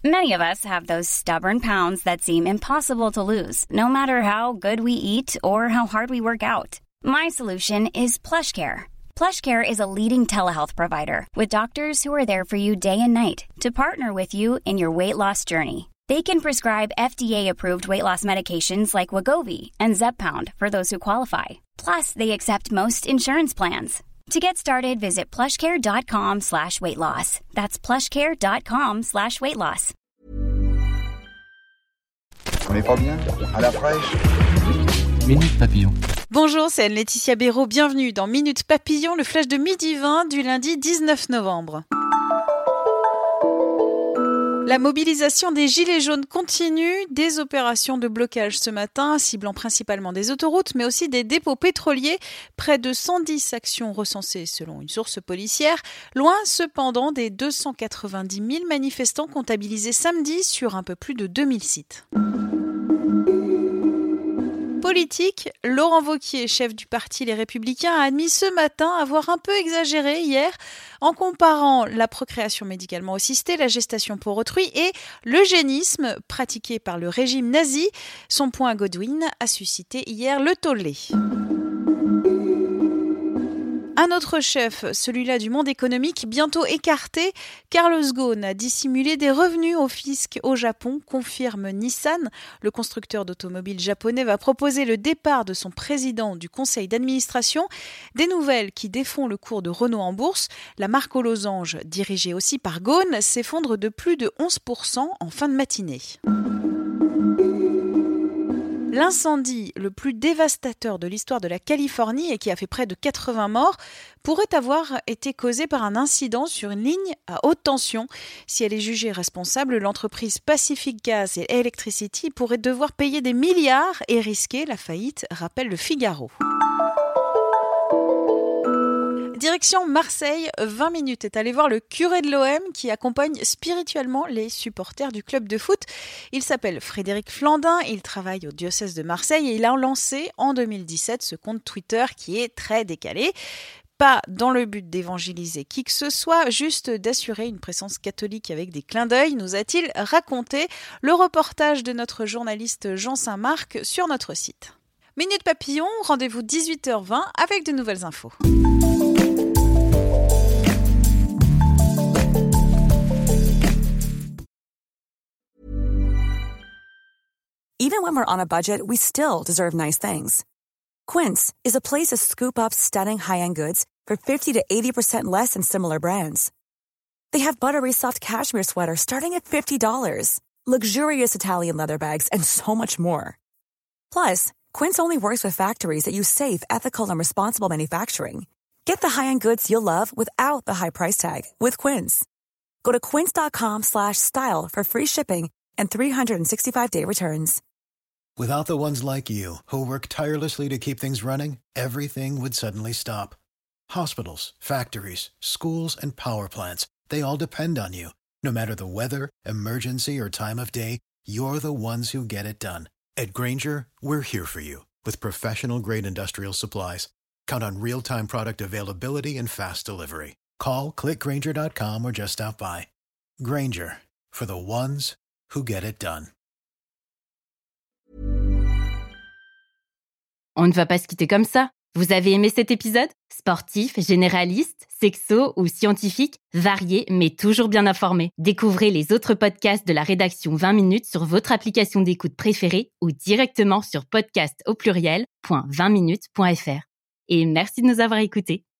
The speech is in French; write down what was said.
Many of us have those stubborn pounds that seem impossible to lose, no matter how good we eat or how hard we work out. My solution is PlushCare. PlushCare is a leading telehealth provider with doctors who are there for you day and night to partner with you in your weight loss journey. They can prescribe FDA-approved weight loss medications like Wegovy and Zepbound for those who qualify. Plus, they accept most insurance plans. To get started, visit plushcare.com/weightloss. That's plushcare.com/weightloss. On n'est pas bien? À la fraîche? Minute Papillon. Bonjour, c'est Anne-Laetitia Béraud. Bienvenue dans Minute Papillon, le flash de midi 20 du lundi 19 novembre. La mobilisation des Gilets jaunes continue, des opérations de blocage ce matin, ciblant principalement des autoroutes, mais aussi des dépôts pétroliers. Près de 110 actions recensées selon une source policière, loin cependant des 290 000 manifestants comptabilisés samedi sur un peu plus de 2000 sites. Politique, Laurent Wauquiez, chef du parti Les Républicains, a admis ce matin avoir un peu exagéré hier en comparant la procréation médicalement assistée, la gestation pour autrui et l'eugénisme pratiqué par le régime nazi. Son point Godwin a suscité hier le tollé. Un autre chef, celui-là du monde économique, bientôt écarté, Carlos Ghosn a dissimulé des revenus au fisc au Japon, confirme Nissan. Le constructeur d'automobiles japonais va proposer le départ de son président du conseil d'administration. Des nouvelles qui défont le cours de Renault en bourse. La marque aux losanges, dirigée aussi par Ghosn, s'effondre de plus de 11% en fin de matinée. L'incendie le plus dévastateur de l'histoire de la Californie et qui a fait près de 80 morts pourrait avoir été causé par un incident sur une ligne à haute tension. Si elle est jugée responsable, l'entreprise Pacific Gas et Electricity pourrait devoir payer des milliards et risquer la faillite, rappelle le Figaro. Direction Marseille, 20 minutes est allé voir le curé de l'OM qui accompagne spirituellement les supporters du club de foot. Il s'appelle Frédéric Flandin, il travaille au diocèse de Marseille et il a lancé en 2017 ce compte Twitter qui est très décalé. Pas dans le but d'évangéliser qui que ce soit, juste d'assurer une présence catholique avec des clins d'œil, nous a-t-il raconté. Le reportage de notre journaliste Jean Saint-Marc sur notre site. Minute Papillon, rendez-vous 18h20 avec de nouvelles infos. Even when we're on a budget, we still deserve nice things. Quince is a place to scoop up stunning high-end goods for 50 to 80% less than similar brands. They have buttery soft cashmere sweaters starting at $50, luxurious Italian leather bags, and so much more. Plus, Quince only works with factories that use safe, ethical, and responsible manufacturing. Get the high-end goods you'll love without the high price tag with Quince. Go to quince.com/style for free shipping and 365-day returns. Without the ones like you, who work tirelessly to keep things running, everything would suddenly stop. Hospitals, factories, schools, and power plants, they all depend on you. No matter the weather, emergency, or time of day, you're the ones who get it done. At Grainger, we're here for you with professional-grade industrial supplies. Count on real-time product availability and fast delivery. Call, click Grainger.com, or just stop by. Grainger, for the ones who get it done. On ne va pas se quitter comme ça. Vous avez aimé cet épisode ? Sportif, généraliste, sexo ou scientifique, varié mais toujours bien informé. Découvrez les autres podcasts de la rédaction 20 minutes sur votre application d'écoute préférée ou directement sur podcast au pluriel.20minutes.fr. Et merci de nous avoir écoutés.